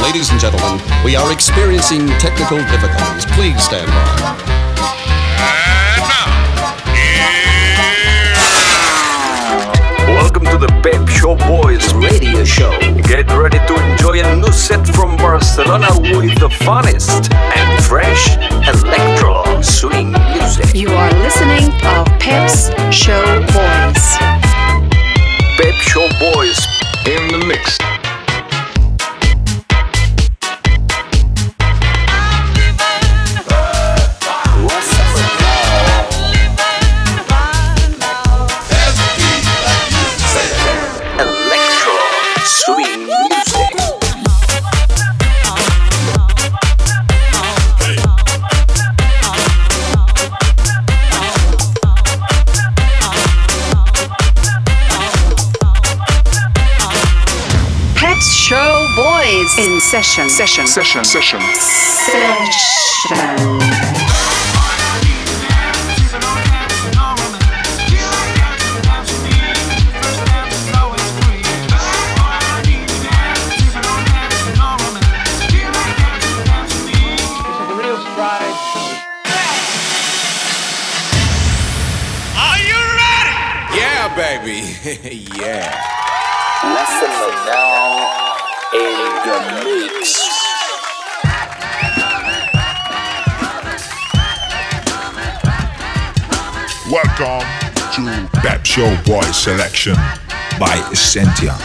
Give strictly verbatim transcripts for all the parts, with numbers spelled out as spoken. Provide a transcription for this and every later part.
Ladies and gentlemen, we are experiencing technical difficulties. Please stand by. Welcome to the Pep Show Boys radio show. Get ready to enjoy a new set from Barcelona with the funnest and fresh electro swing music. You are listening to Pep's Show Boys. Pep Show Boys in the mix. In session, session, session, session, session. Are you ready? Yeah, baby. Yeah. Listen now. In the mix. Welcome to Pep Show Boys selection by Essentia.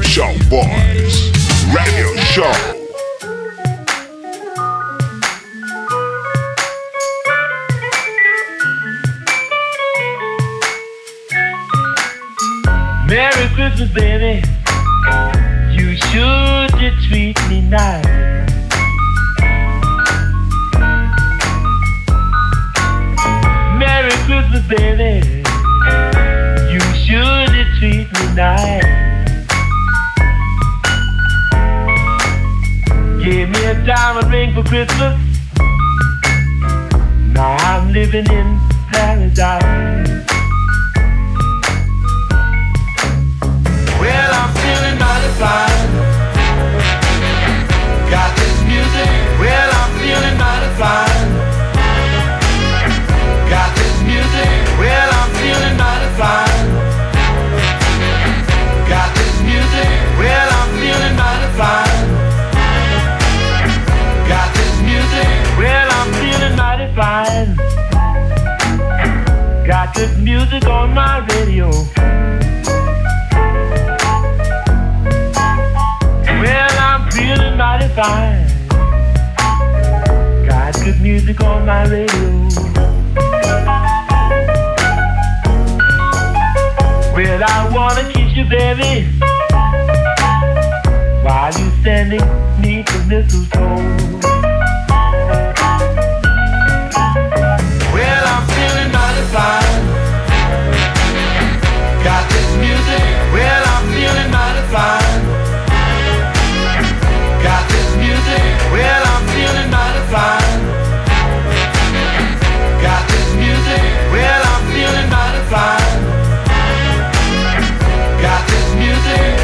Show Boys Radio Show. Merry Christmas, baby. You should just treat me nice. Merry Christmas, baby. You should just treat me nice. Give me a diamond ring for Christmas. Now I'm living in paradise. Well, I'm feeling mighty fine. Got this music. Well, I'm feeling mighty fine. Got this music. Well, I'm feeling mighty fine. Got this music. Well, I'm feeling mighty fine. Got this music. Well, I'm feeling mighty fine. Got this music on my radio. Feeling mighty fine. Got good music on my radio. Well, I wanna kiss you, baby, while you standing neath the mistletoe. Well, I'm feeling mighty fine. Got this music. Well, I'm feeling mighty fine. Got this music, well, I'm feeling mighty fine. Got this music, well, I'm feeling mighty fine. Got this music.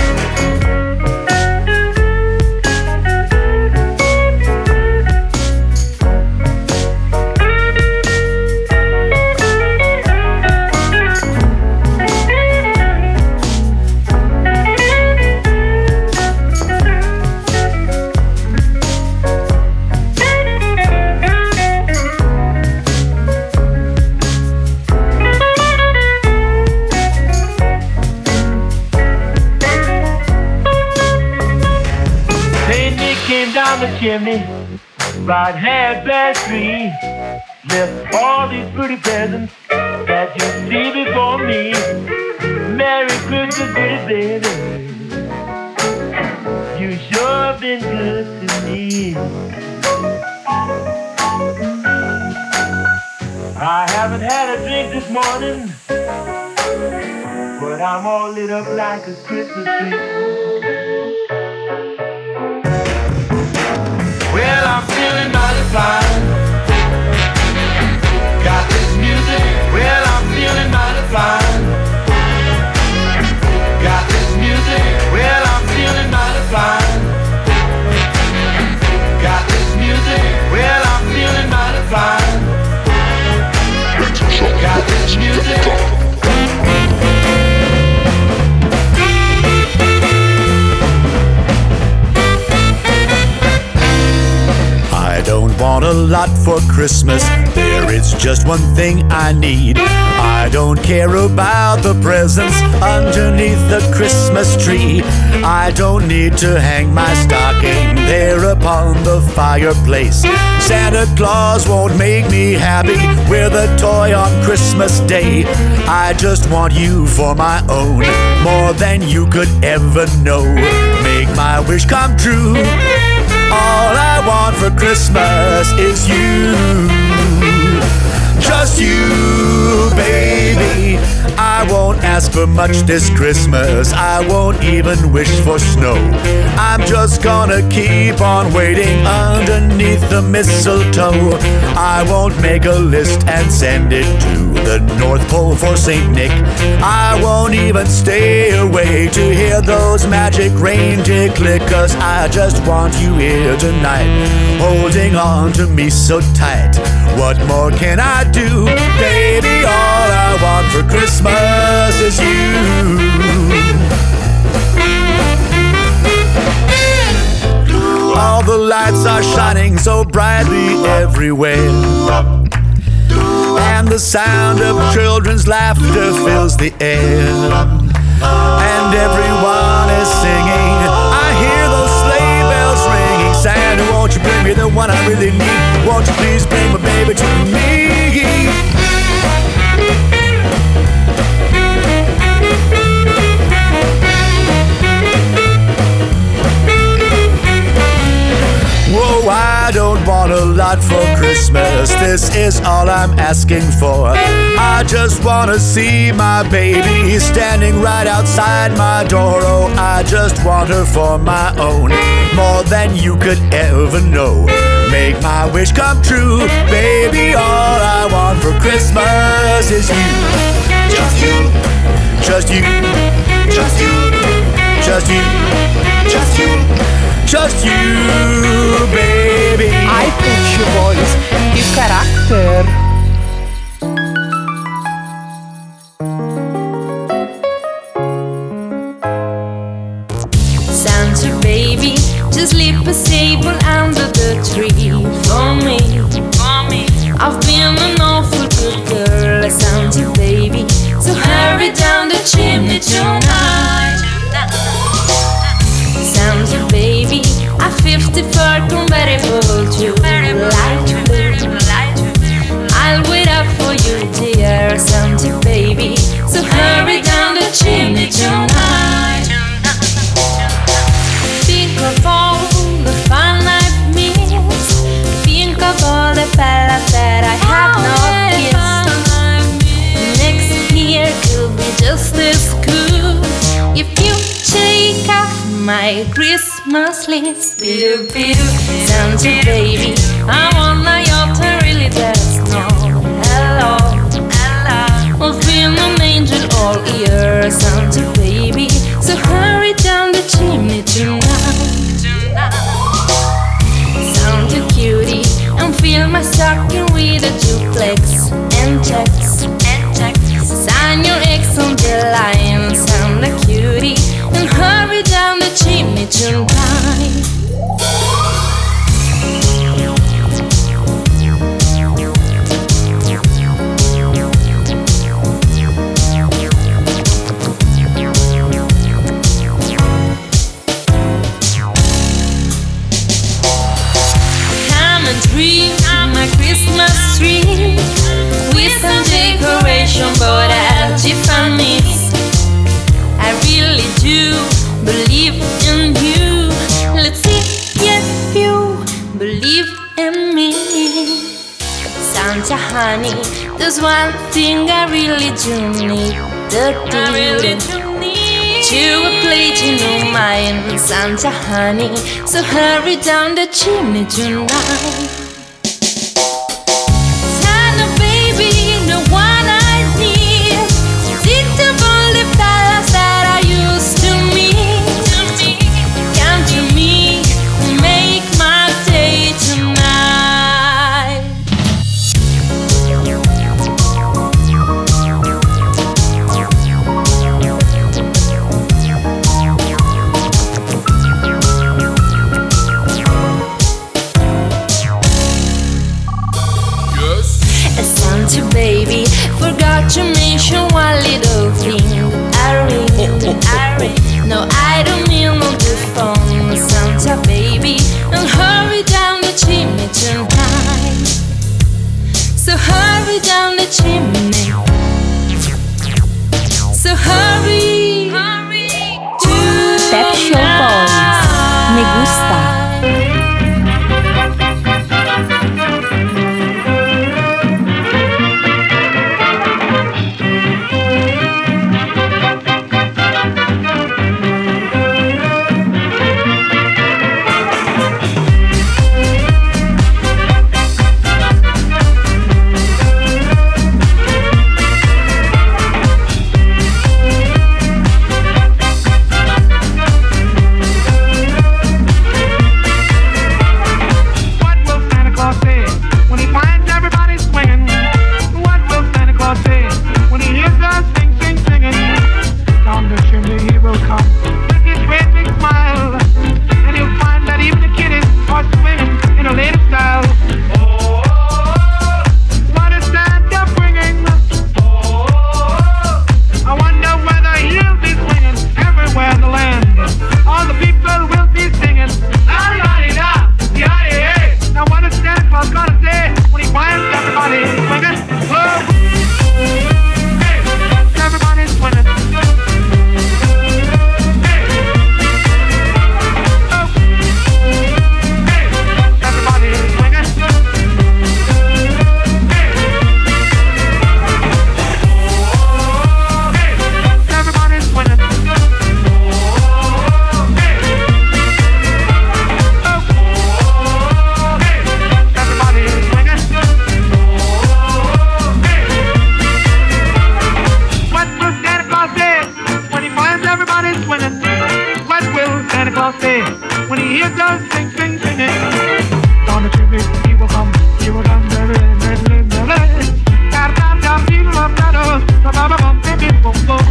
The chimney, right half past three, left all these pretty presents that you see before me. Merry Christmas, pretty baby. You sure been good to me. I haven't had a drink this morning, but I'm all lit up like a Christmas tree. Well, I'm feeling mighty fine. Got this music. Well, I'm feeling mighty fine. Got this music. Well, I'm feeling mighty fine. Got this music. Well, I'm feeling mighty fine. Got this music. I don't want a lot for Christmas. There is just one thing I need. I don't care about the presents underneath the Christmas tree. I don't need to hang my stocking there upon the fireplace. Santa Claus won't make me happy with a toy on Christmas Day. I just want you for my own, more than you could ever know. Make my wish come true. All I want for Christmas is you. Just you, baby. I won't ask for much this Christmas. I won't even wish for snow. I'm just gonna keep on waiting underneath the mistletoe. I won't make a list and send it to the North Pole for Saint Nick. I won't even stay awake to hear those magic reindeer click, 'cause I just want you here tonight, holding on to me so tight. What more can I do? Baby, all I want for Christmas is you. All the lights are shining so brightly everywhere, and the sound of children's laughter fills the air, and everyone is God for Christmas. This is all I'm asking for. I just wanna see my baby standing right outside my door. Oh, I just want her for my own, more than you could ever know. Make my wish come true, baby. All I want for Christmas is you. Just you, just you, just you, just you, just you, just you, baby. Ai, Pet Boys, que carácter! Santa baby, just leave a table under the tree for me. I've been an awful good girl, Santa baby, so hurry down the chimney tonight. Santa baby, a fifty-four convertible to light blue. I'll wait up for you, dear Santa baby, so hurry down the chimney tonight. Think of all the fun I've missed. Think of all the fellas that I have not kissed. Next year could be just as good if you take off my Christmas list. Pew, pew, Santa baby, I want my yacht, I really does know. Hello, hello, I've been an angel all year, Santa baby, so hurry down the chimney tonight. Santa cutie, and fill my stocking with a duplex and checks. Sign your ex on the line, Santa cutie, and hurry down the chimney tonight. Come and dream my Christmas tree with some decoration, but at Tiffany's. I really do believe in you. Let's see if you believe in me. Santa honey, there's one thing I really do need. The I really do need you a platinum mine, Santa honey, so hurry down the chimney tonight. Santa baby, the one I need. Think of all the fellas that I used to meet. Come to me, make my day tonight. Santa baby, forgot to mention one little thing. I ring, I ring. No, I don't mean on the phone, Santa baby, and hurry down the chimney tonight. So hurry down the chimney. So hurry, hurry Pet Show Boys, me gusta. Claus says when he hears us sing, sing, singing, down the chimney he will come, he will come, baby, baby, baby. Got down, down, people up, shadows, ba ba ba bum, baby, boom, boom.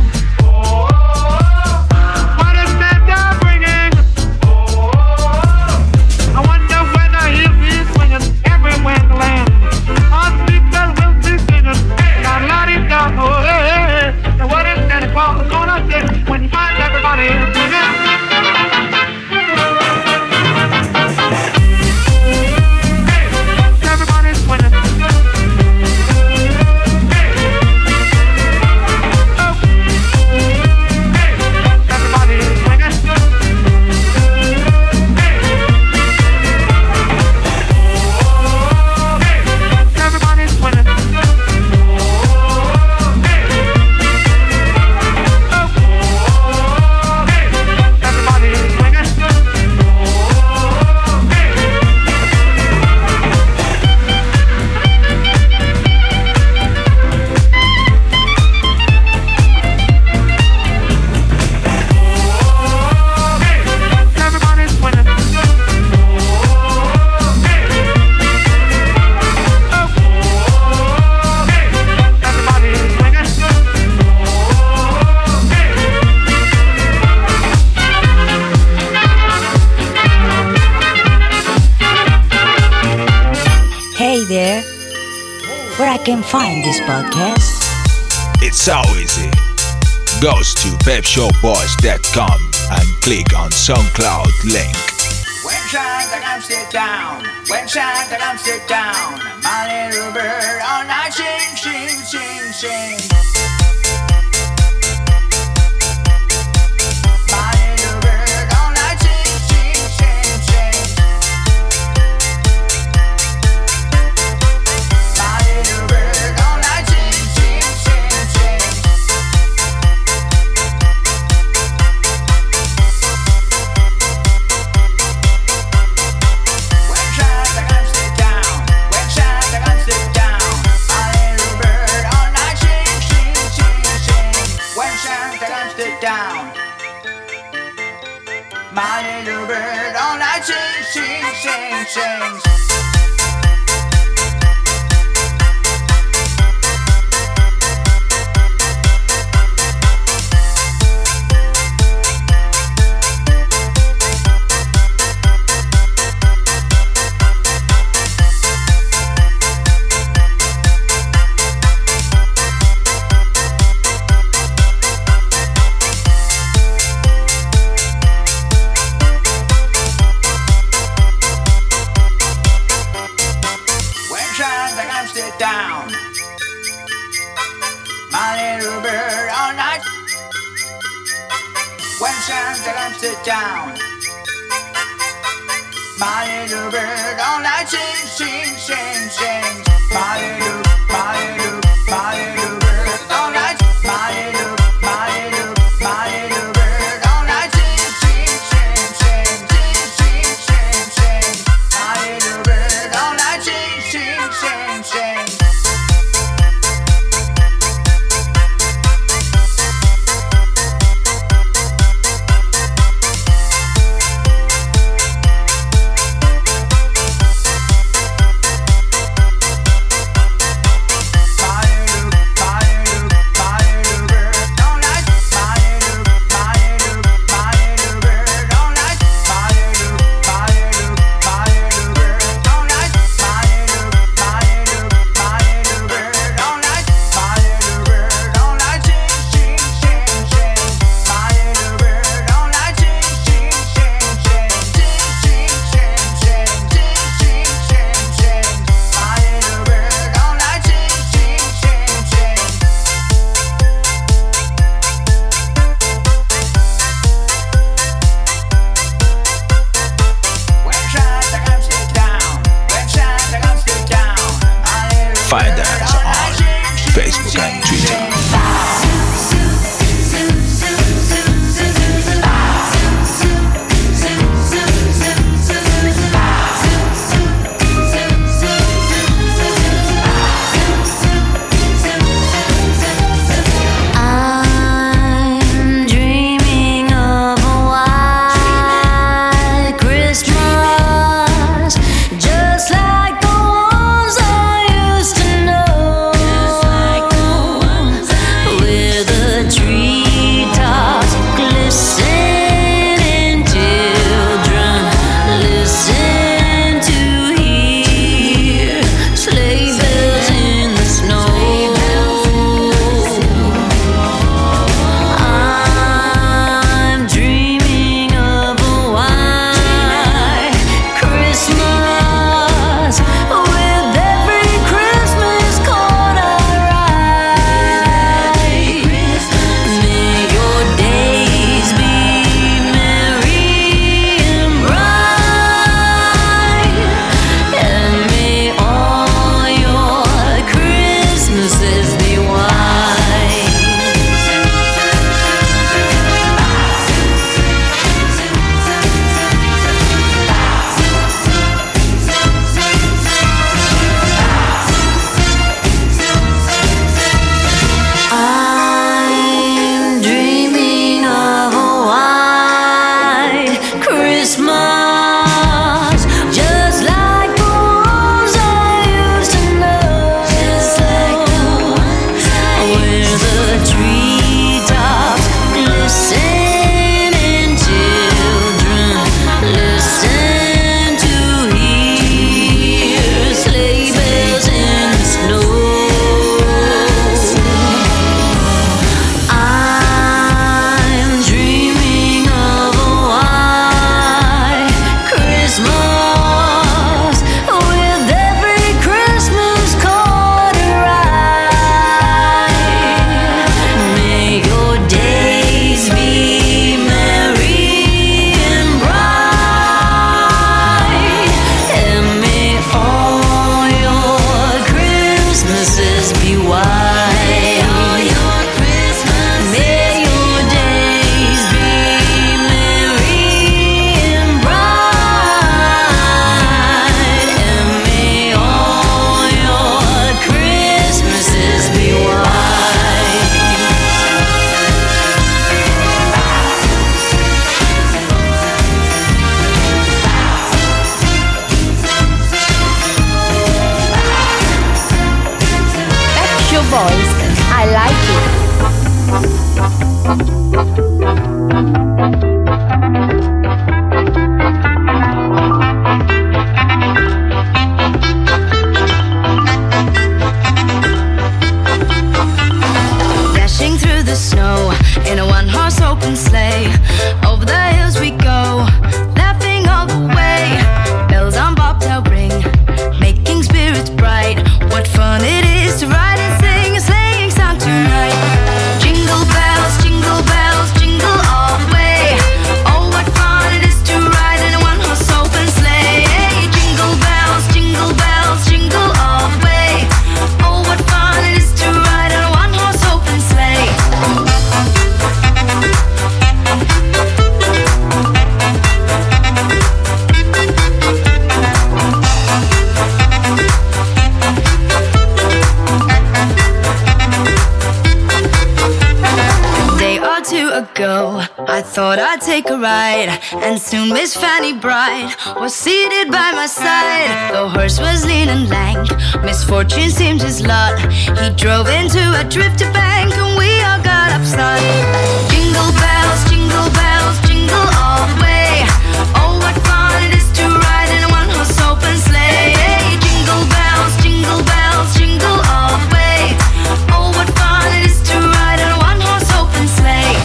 What is Santa bringing? I wonder whether he'll be swinging everywhere in the land. All people will be singing, got a lot of down, oh, hey, hey. Now what is Santa Claus gonna say when he finds everybody singing? Everybody's winning. There, where I can find this podcast? It's so easy. Goes to pep show boys dot com and click on SoundCloud link. When Santa comes sit down, when Santa comes sit down, my little bird all night sing, sing, sing, sing. My little bird all night sing, sing, sing, sing. My little bird all night sing, sing, sing, sing. Down, my little bird all night. When Santa comes to town, my little bird all night sing, sing, sing, sing. My little, my little, my little bird all night. My little, my little, my little bird all night sing, sing, sing, sing, sing, sing, sing, sing. My little bird all night sing, sing, sing, sing. open sleigh. Over the hills we go, laughing all the way. Bells on bobtail ring, making spirits bright. What fun it is to ride and sing a sleighing song tonight. Jingle bells, jingle bells, jingle all the way. Oh, what fun it is to ride in a one-horse open sleigh. Jingle bells, jingle bells, jingle all the way. Oh, what fun it is to ride in a one-horse open sleigh. Ago, I thought I'd take a ride, and soon Miss Fanny Bright was seated by my side. The horse was lean and lank, misfortune seemed his lot. He drove into a drifted bank, and we all got upset. Jingle bells, jingle bells, jingle all the way. Oh, what fun it is to ride in a one-horse open sleigh. Jingle bells, jingle bells, jingle all the way. Oh, what fun it is to ride in a one-horse open sleigh.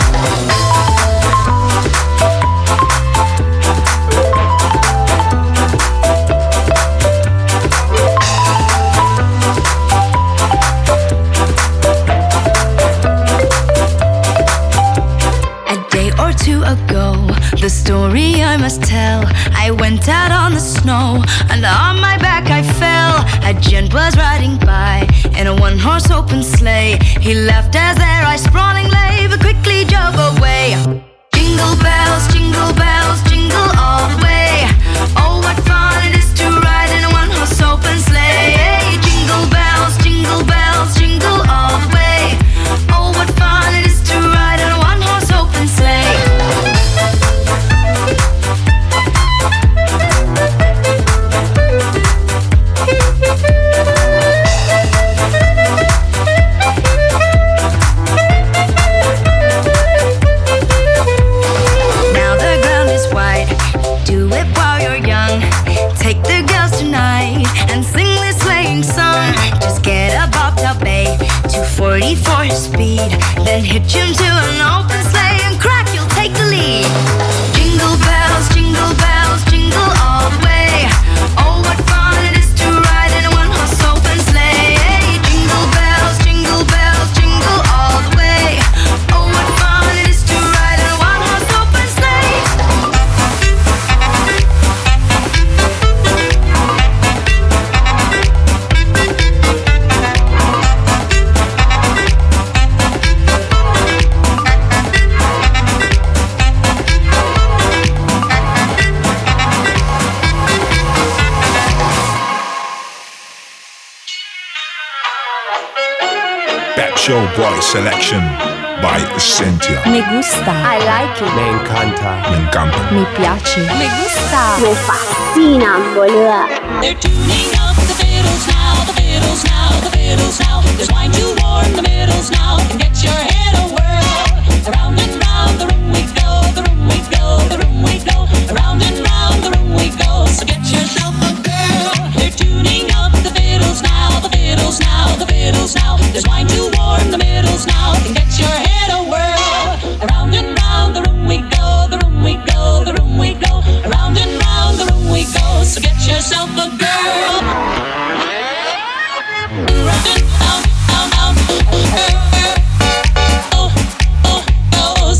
Ago, the story I must tell. I went out on the snow, and on my back I fell. A gent was riding by in a one-horse open sleigh. He laughed as their eyes sprawling lay, but quickly drove away. Jingle bells, jingle bells, jingle all the way. Oh, what fun it is to ride in a one-horse open sleigh. Jingle bells, jingle bells, jingle all the way. Oh, what fun it is to ride in a one-horse open sleigh. Take the girls tonight and sing this sleighing song. Just get a bobtail bay, two forty-four speed, then hitch him to an open sleigh and crack, you'll take the lead. Jingle bells, jingle bells, jingle all the way. Oh, what fun it is to ride in a one-horse open sleigh. Jingle bells, jingle bells, jingle all the way. Oh, what fun it is to ride in a one-horse open sleigh. Show Boy Selection by Cynthia. Me gusta. I like it. Me encanta. Me encanta. Mi piace. Me gusta. Me fascina, boluda. They're tuning up the fiddles now, the fiddles now, the fiddles now. There's wine to warm the middles now, and get your head a whirl. Around and round the room we go, the room we go, the room we go. Around and round the room we go, so get yourself a girl. They're tuning up the fiddles now, the fiddles now, the fiddles now. There's wine to warm the middles now, and get your head a whirl. Around and round the room we go, the room we go, the room we go. Around and round the room we go, so get yourself a girl. Round and round, round, round. Oh, oh, oh.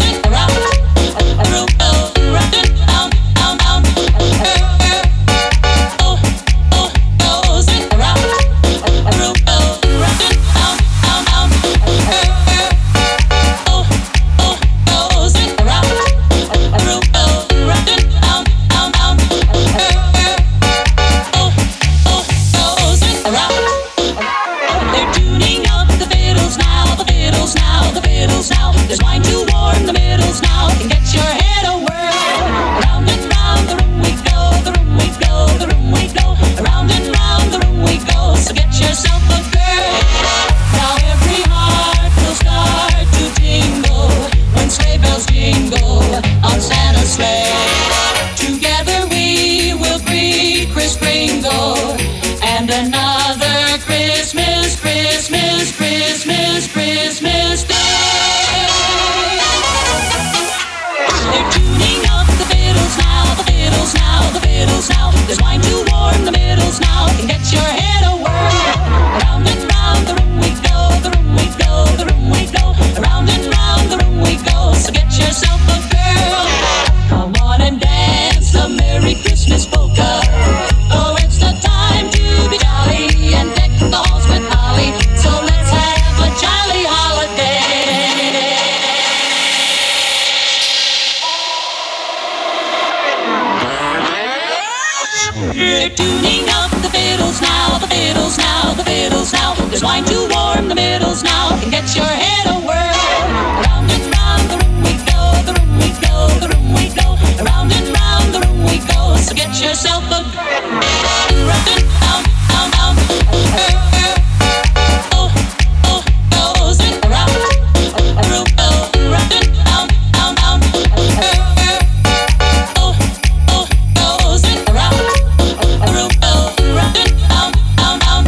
They're tuning up the fiddles now, the fiddles now, the fiddles now. There's wine to warm the middles now and get your head a whirl. Round and round the room we go, the room we go, the room we go. Round and round the room we go. So get yourself a round and round, round, round. Oh, oh, goes it around, round, round and round, round, round. Oh, oh, goes it around, round, round and round, round, round.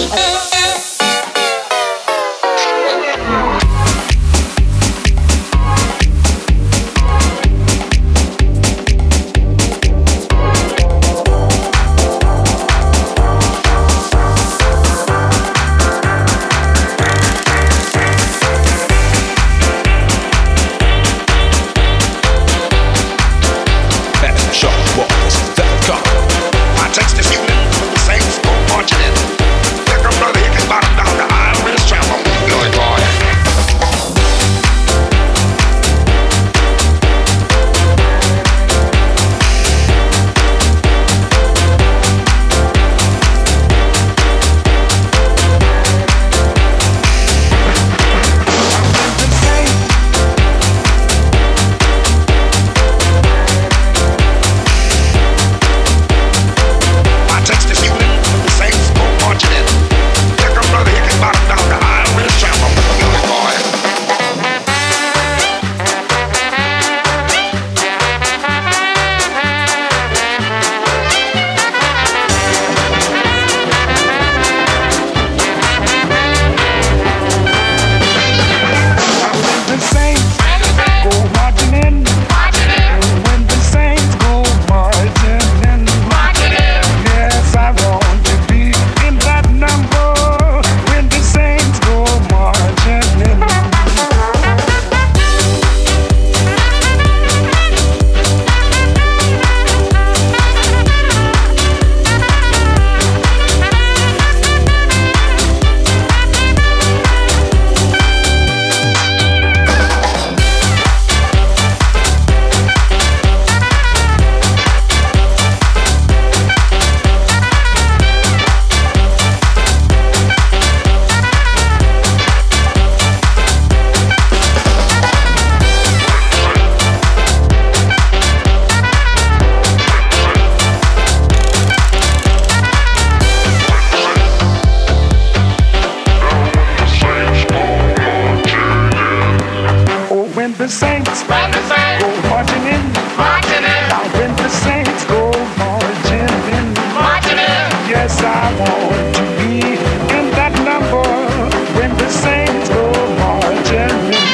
the saints go marching in, marching in. Now when the saints go marching in, marching in. Yes, I want to be in that number when the saints go marching in.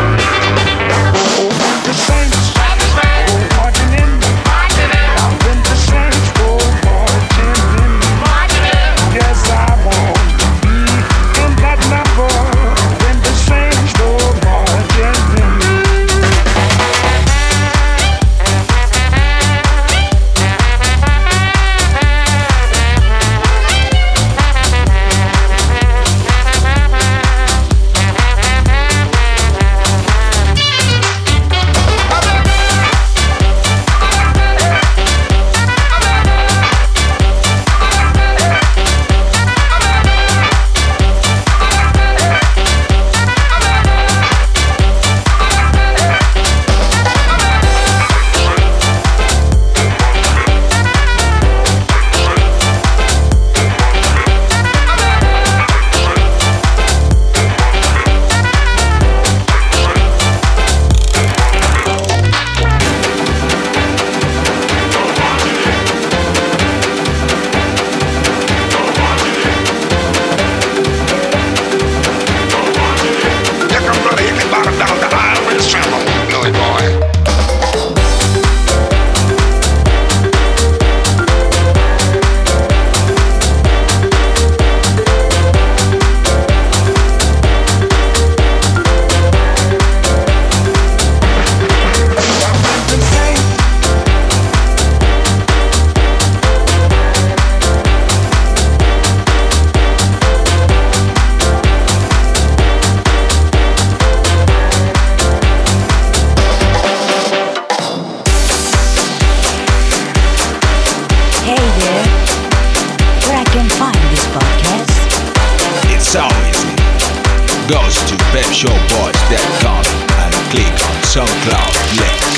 When goes to pep show boys dot com and click on SoundCloud links.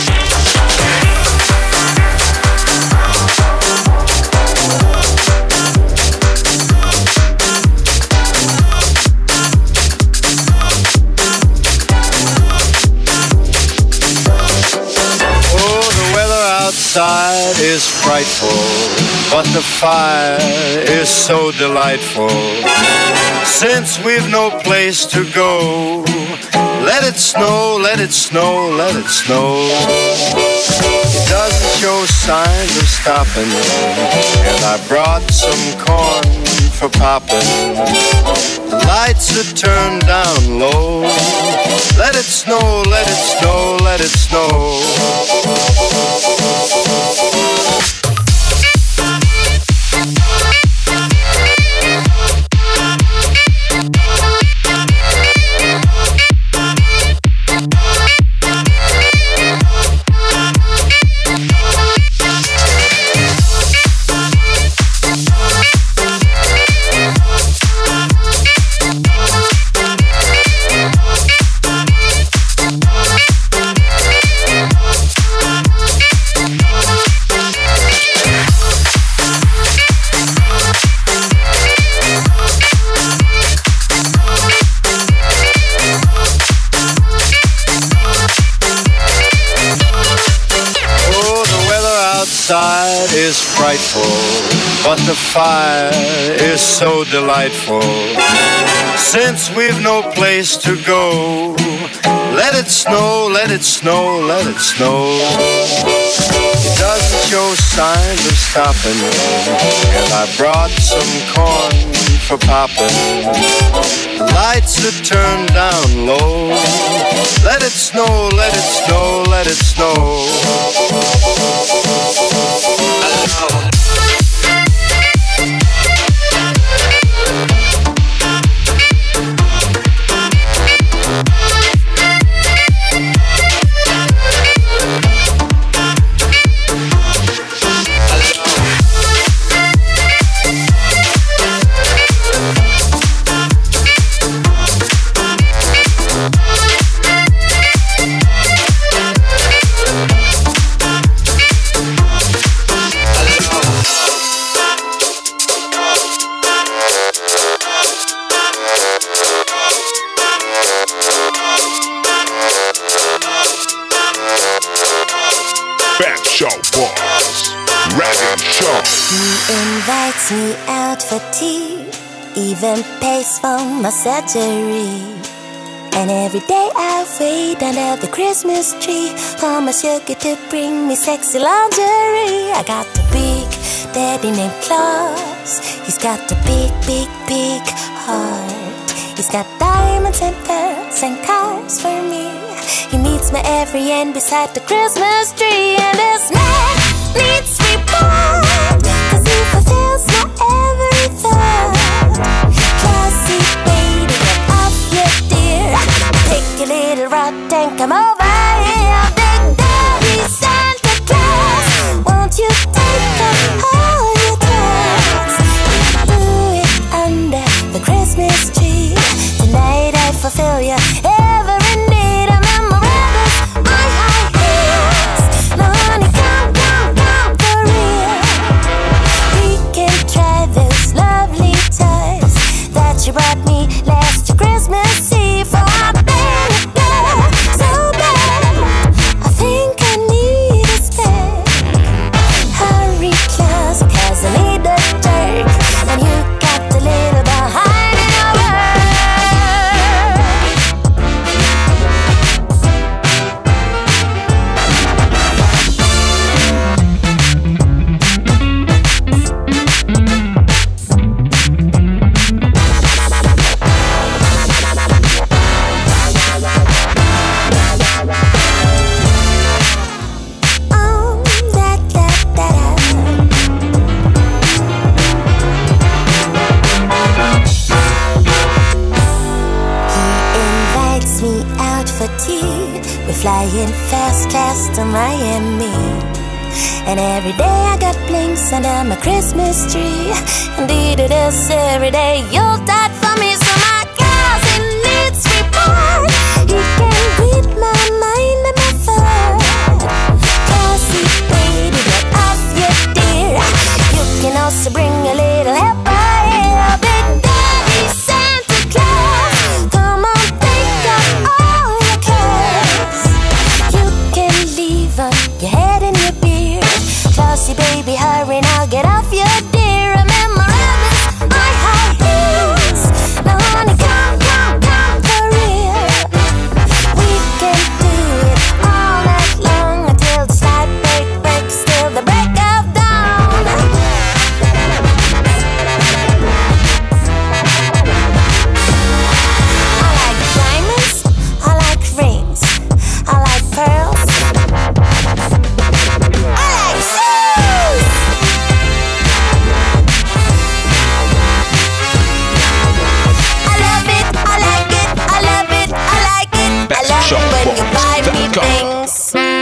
Outside is frightful, but the fire is so delightful. Since we've no place to go, let it snow, let it snow, let it snow. It doesn't show signs of stopping, and I brought some corn for popping. The lights are turned down low. Let it snow, let it snow, let it snow. Is frightful, but the fire is so delightful. Since we've no place to go, let it snow, let it snow, let it snow. It doesn't show signs of stopping, and I brought some corn for popping. The lights are turned down low. Let it snow, let it snow, let it snow. Invites me out for tea, even pays for my surgery. And every day I wait under the Christmas tree for my sugar to bring me sexy lingerie. I got a big daddy named Claus. He's got a big, big, big heart. He's got diamonds and pearls and cars for me. He meets me every end beside the Christmas tree. And this man needs reward, 'cause he fulfills my every thought. Classy baby, get off your dear. Take your little rod and come over here. Big Daddy Santa Claus, won't you take off all your clothes? Do it under the Christmas tree. Tonight I fulfill your every need. I'm in my rebels, my high heels. No honey, come, come, come for real. We can try those lovely toys that you brought me last Christmas Eve. For I beg you, girl, so bad. I think I need a spare. Hurry, Claus, 'cause I need a jerk, and you got a little behind in your word. Flying first class to Miami. And every day I got blinks under my Christmas tree. Indeed it is every day Yuletide for me. So my cousin needs can read my mind and my thought. Classy baby, get off your dear. You can also bring a little helper here. Big Daddy Santa Claus, come on, take off all your clothes. You can leave on your head and your beard. Classy baby, hurry now, get off your dear. Remember rabbits, I have heels. Now honey, come, come, come for real. We can do it all night long until the slight break breaks till the break of dawn. I like diamonds, I like rings, I like pearls, I like shoes. I love it, I like it, I love it, I like it. I love it when you buy me things.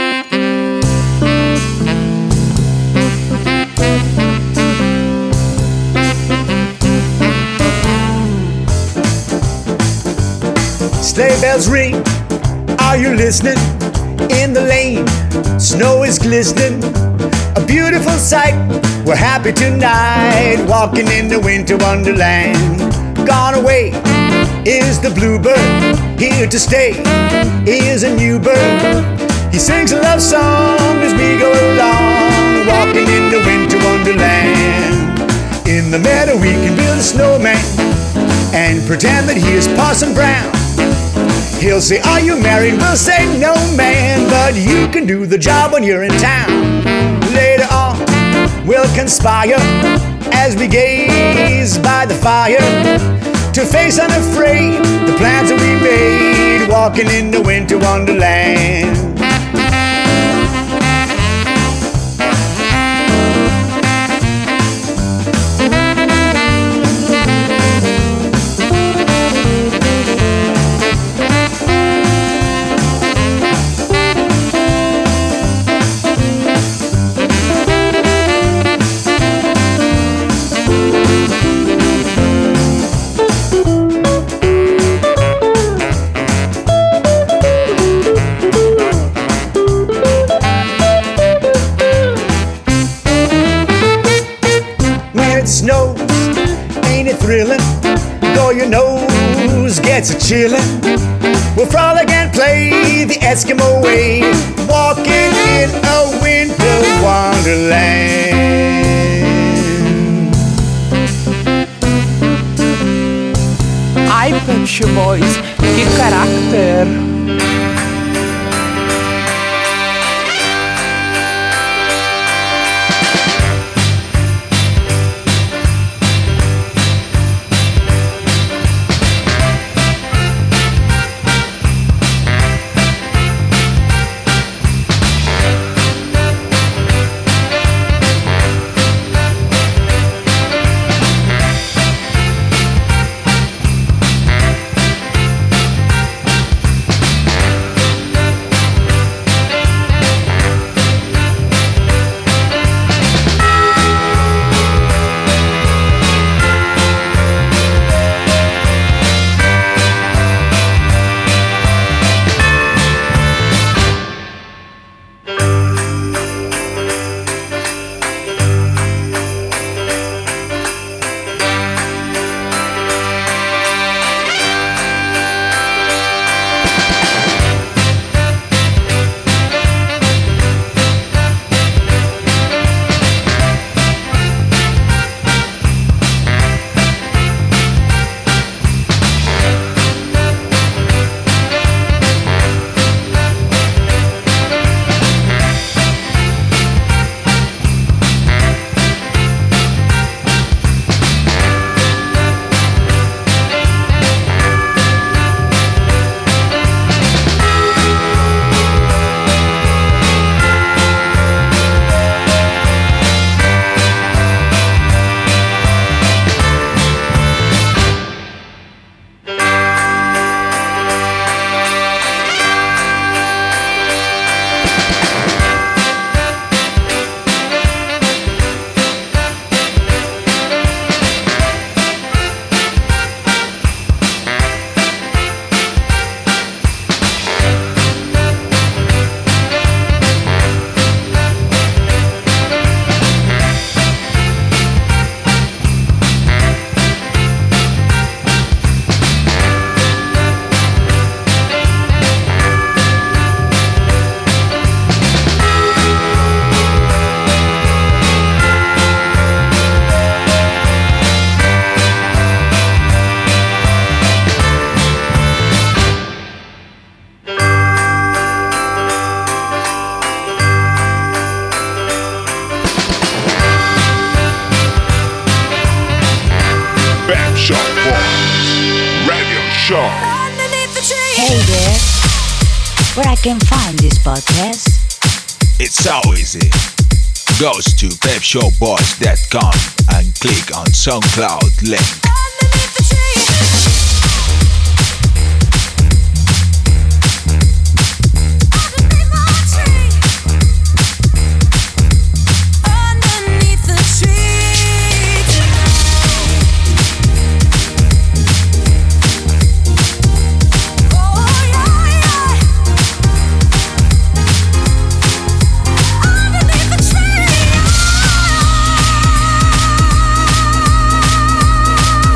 Sleigh bells ring, are you listening? In the lane, snow is glistening, a beautiful sight. We're happy tonight, walking in the winter wonderland. Gone away is the bluebird, here to stay is a new bird. He sings a love song as we go along, walking in the winter wonderland. In the meadow we can build a snowman and pretend that he is Parson Brown. He'll say, are you married? We'll say, no man, but you can do the job when you're in town. Later on, we'll conspire as we gaze by the fire to face unafraid the plans that we made, walking in the winter wonderland. Snows, ain't it thrilling? Though your nose gets a chillin', we'll frolic and play the Eskimo way, walking in a winter wonderland. Ai, Pep Show Boys, que carácter! Show. Hey there, where I can find this podcast? It's so easy. Goes to pep show boys dot com and click on SoundCloud link. Underneath the tree.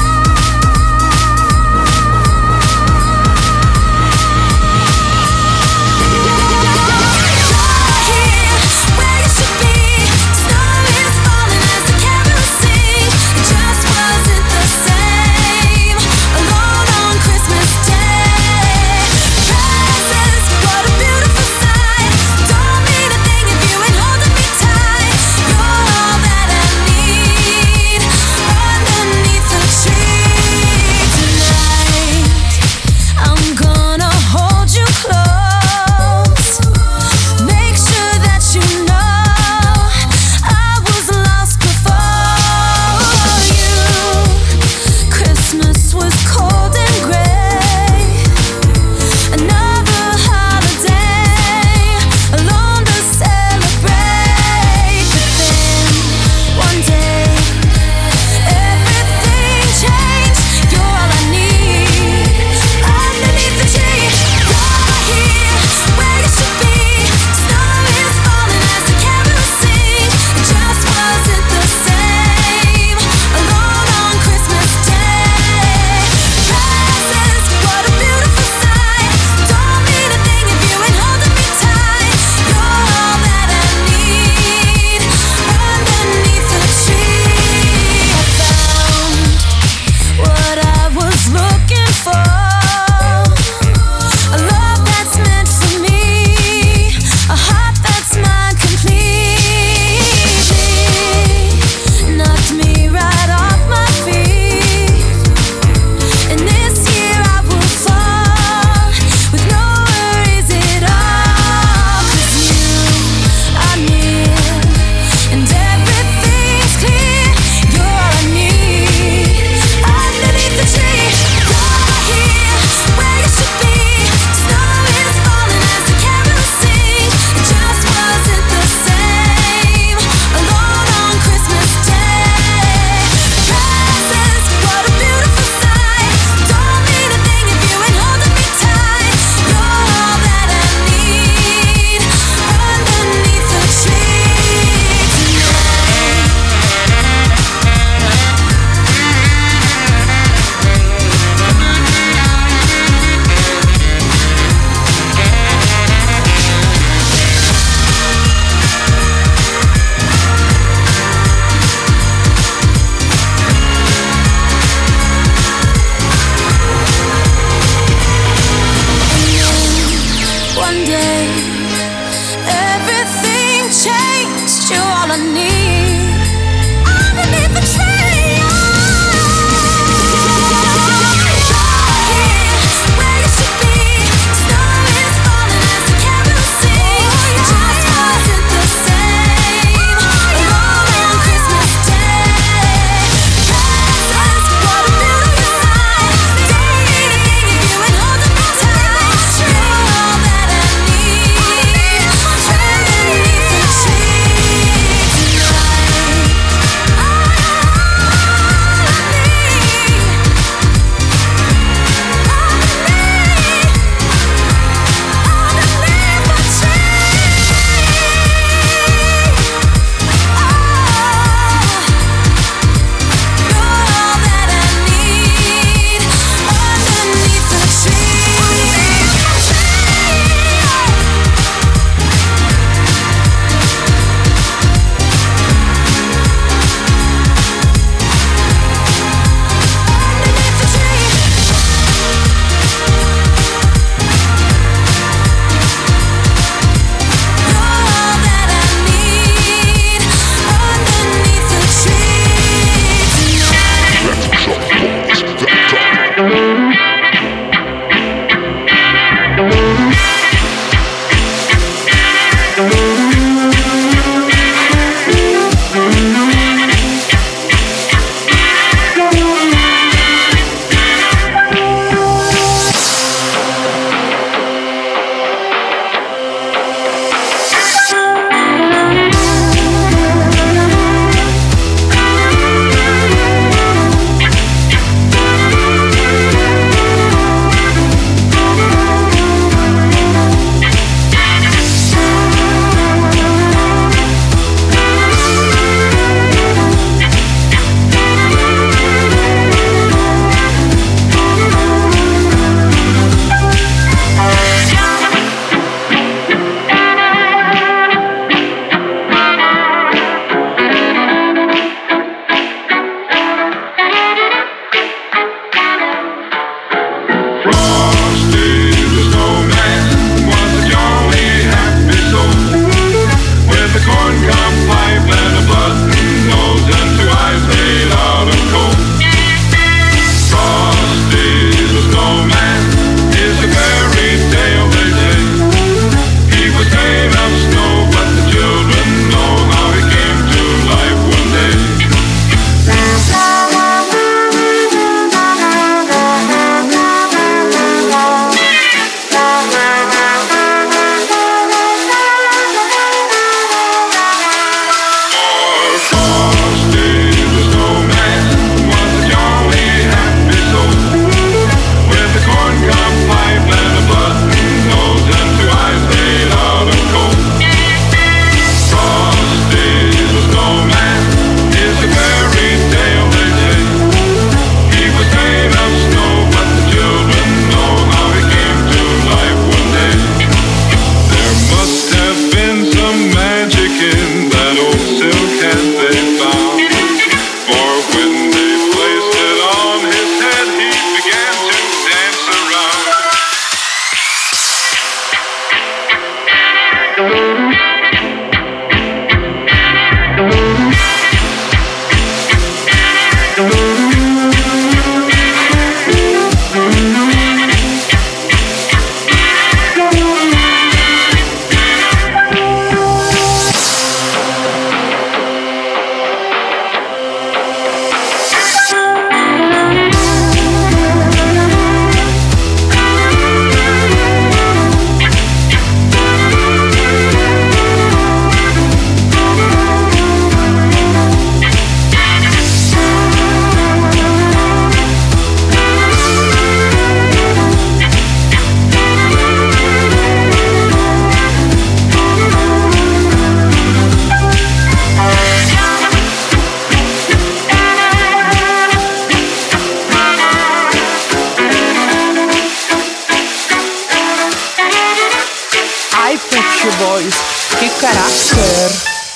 Haider.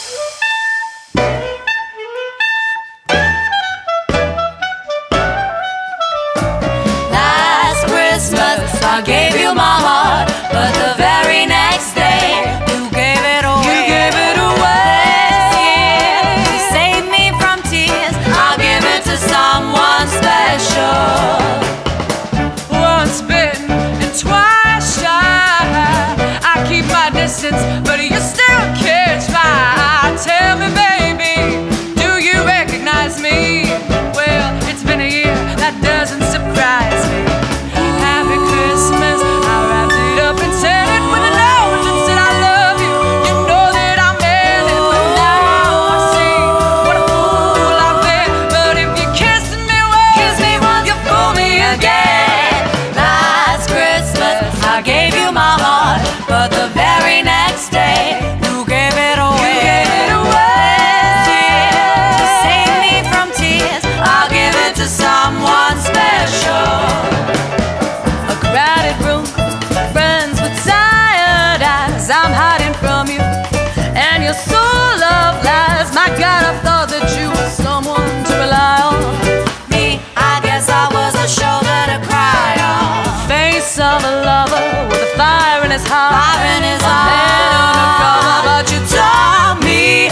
Last Christmas I gave you my heart, but the very next day you gave it away. You gave it away. To save me from tears, I'll give it to someone special. Once bitten and twice shy, I keep my distance, but you still catch fire. Tell me, baby, do you recognize me? Well, it's been a year, that doesn't surprise me. Happy Christmas, I wrapped it up and sent it with a note that said I love you. You know that I meant it, but now I see what a fool I've been. But if you kiss me once, Kiss me once, you fool me again. Last Christmas I gave you my heart, but the very next day you gave it away. You gave it away. To save me from tears, I'll give it to someone special. A crowded room, friends with tired eyes. I'm hiding from you, and you're so love lies. My God, I thought that you were someone to rely on. Me, I guess I was a shoulder to cry on. face of a lover with a fire in his heart. Fire in his A head undercover, heart. but you tore me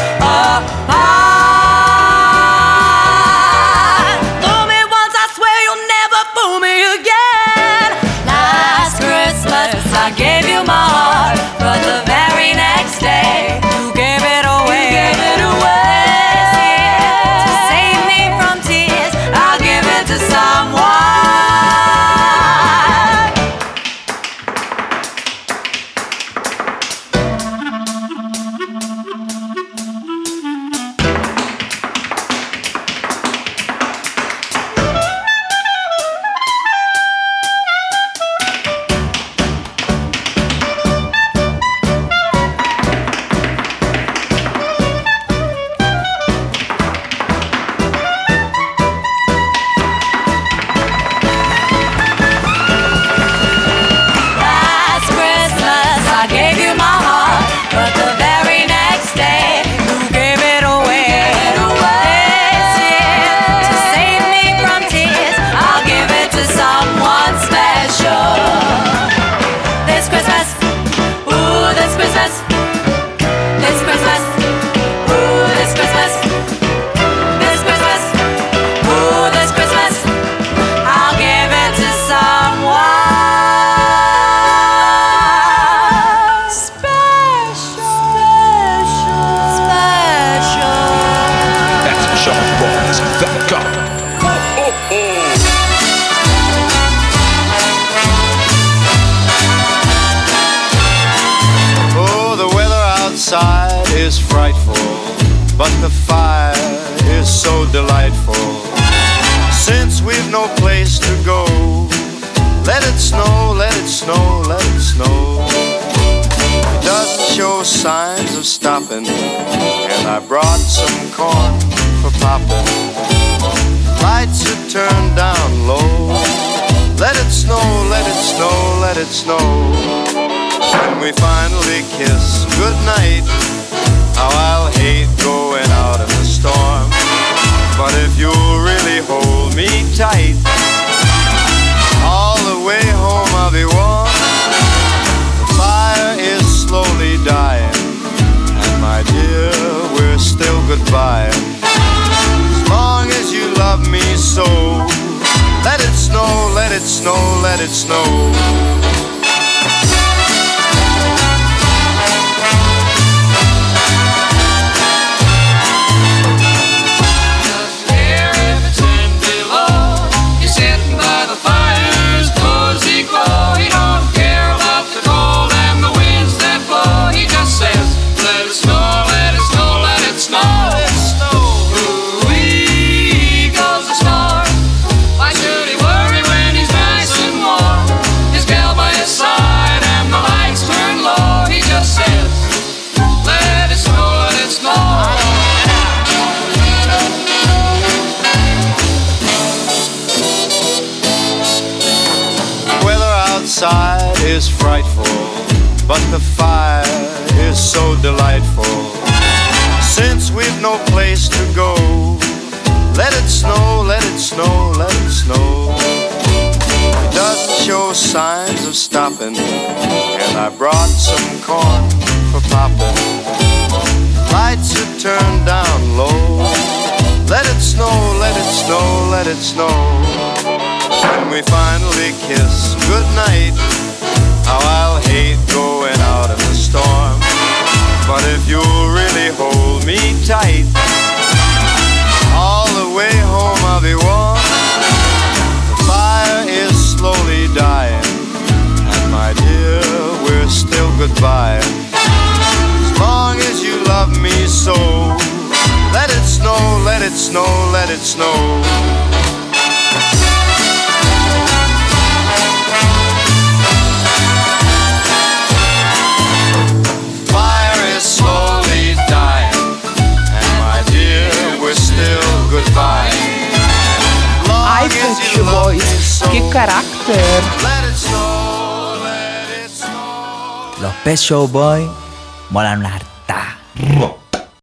apart. Fool me once, I swear you'll never fool me again. Last Christmas I gave you my heart, but the very next day you gave it away. You gave it away. To save me from tears, I'll give it to someone. Last Christmas I gave you my heart, but the very next day you gave it away. This year, to save me from tears, I'll give it to someone special. This Christmas, ooh, this Christmas, this Christmas, ooh, this Christmas, this Christmas, ooh, this Christmas, I'll give it to someone special, special, special. Pet Shop Boys dot com. Oh, the weather outside is frightful, but the fire is so delightful. Since we've no place to go, let it snow, let it snow, let it snow. It doesn't show signs of stopping, and I brought some corn for popping. Lights are turned down low. Let it snow, let it snow, let it snow. When we finally kiss goodnight, how I'll hate going out in the storm. But if you'll really hold me tight, all the way home I'll be warm. The fire is slowly dying, and my dear, we're still goodbye. As long as you love me so, let it snow, let it snow, let it snow. Is frightful, but the fire is so delightful. no place to go. Let it snow, let it snow, let it snow. It doesn't show signs of stopping, and I brought some corn for popping. Lights are turned down low. Let it snow, let it snow, let it snow. When we finally kiss goodnight, how I'll hate going out in the storm. But if you'll really hold me tight, all the way home I'll be warm. The fire is slowly dying, and my dear, we're still goodbye. As long as you love me so, let it snow, let it snow, let it snow. Fire is slowly dying, and my dear, we're still goodbye. Ai, Pet Boys, qué carácter. Los Pet Shop Boys molan una harta.